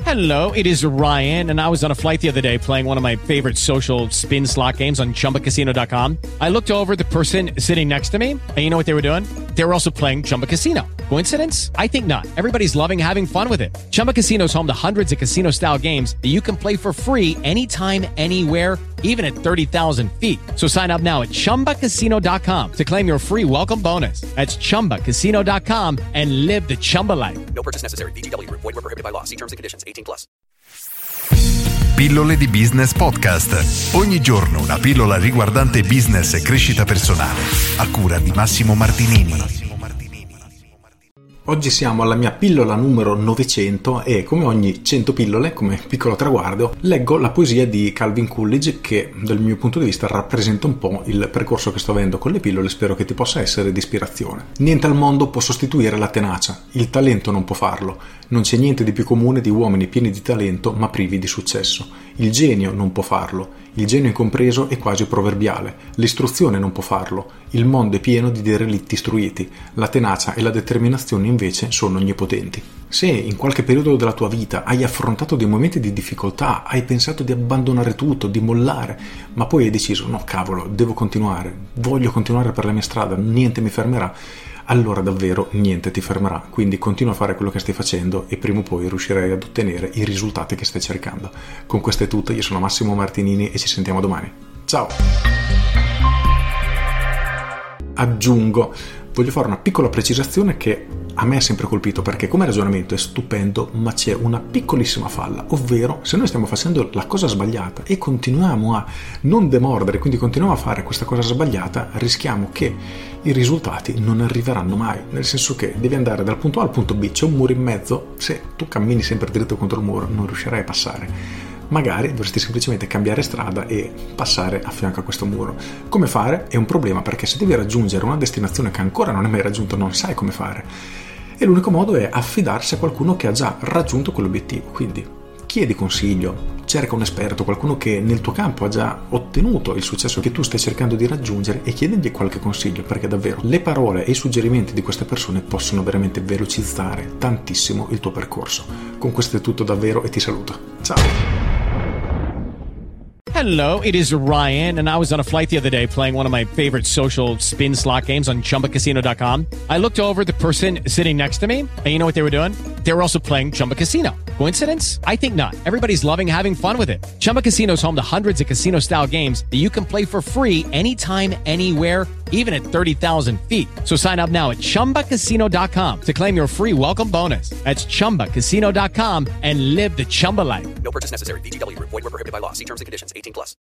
Hello, it is Ryan, and I was on a flight the other day playing one of my favorite social spin slot games on ChumbaCasino.com. I looked over at the person sitting next to me, and you know what they were doing? They were also playing Chumba Casino. Coincidence? I think not. Everybody's loving having fun with it. Chumba Casino is home to hundreds of casino-style games that you can play for free anytime, anywhere, even at 30,000 feet. So sign up now at ChumbaCasino.com to claim your free welcome bonus. That's ChumbaCasino.com and live the Chumba life. No purchase necessary. VGW. Void were prohibited by law. See terms and conditions. 18+. Pillole di Business Podcast. Ogni giorno una pillola riguardante business e crescita personale. A cura di Massimo Martinini. Oggi siamo alla mia pillola numero 900 e come ogni 100 pillole, come piccolo traguardo, leggo la poesia di Calvin Coolidge che dal mio punto di vista rappresenta un po' il percorso che sto avendo con le pillole. Spero che ti possa essere di ispirazione. Niente al mondo può sostituire la tenacia, il talento non può farlo, non c'è niente di più comune di uomini pieni di talento ma privi di successo, il genio non può farlo, il genio incompreso è quasi proverbiale, l'istruzione non può farlo, il mondo è pieno di derelitti istruiti, la tenacia e la determinazione invece sono onnipotenti. Se in qualche periodo della tua vita hai affrontato dei momenti di difficoltà, hai pensato di abbandonare tutto, di mollare, ma poi hai deciso no cavolo, devo continuare, voglio continuare per la mia strada, niente mi fermerà, allora davvero niente ti fermerà, quindi continua a fare quello che stai facendo e prima o poi riuscirai ad ottenere i risultati che stai cercando. Con questo è tutto, io sono Massimo Martinini e ci sentiamo domani. Ciao! Aggiungo, voglio fare una piccola precisazione che a me ha sempre colpito perché come ragionamento è stupendo, ma c'è una piccolissima falla, ovvero se noi stiamo facendo la cosa sbagliata e continuiamo a non demordere, quindi continuiamo a fare questa cosa sbagliata, rischiamo che i risultati non arriveranno mai, nel senso che devi andare dal punto A al punto B, c'è un muro in mezzo, se tu cammini sempre dritto contro il muro non riuscirai a passare. Magari dovresti semplicemente cambiare strada e passare a fianco a questo muro. Come fare? È un problema perché se devi raggiungere una destinazione che ancora non hai mai raggiunto non sai come fare. E l'unico modo è affidarsi a qualcuno che ha già raggiunto quell'obiettivo. Quindi chiedi consiglio, cerca un esperto, qualcuno che nel tuo campo ha già ottenuto il successo che tu stai cercando di raggiungere e chiedigli qualche consiglio perché davvero le parole e i suggerimenti di queste persone possono veramente velocizzare tantissimo il tuo percorso. Con questo è tutto davvero e ti saluto. Ciao! Hello, it is Ryan, and I was on a flight the other day playing one of my favorite social spin slot games on ChumbaCasino.com. I looked over at the person sitting next to me, and you know what they were doing? They were also playing Chumba Casino. Coincidence? I think not. Everybody's loving having fun with it. Chumba Casino is home to hundreds of casino-style games that you can play for free anytime, anywhere, even at 30,000 feet. So sign up now at ChumbaCasino.com to claim your free welcome bonus. That's ChumbaCasino.com and live the Chumba life. No purchase necessary. VGW. Void were prohibited by law. See terms and conditions. 18+.